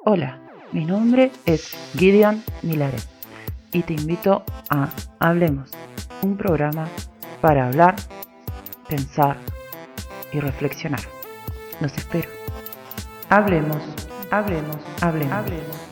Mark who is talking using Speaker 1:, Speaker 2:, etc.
Speaker 1: Hola, mi nombre es Gideon Milaret y te invito a Hablemos, un programa para hablar, pensar y reflexionar. Los espero. Hablemos, hablemos, hablemos, hablemos.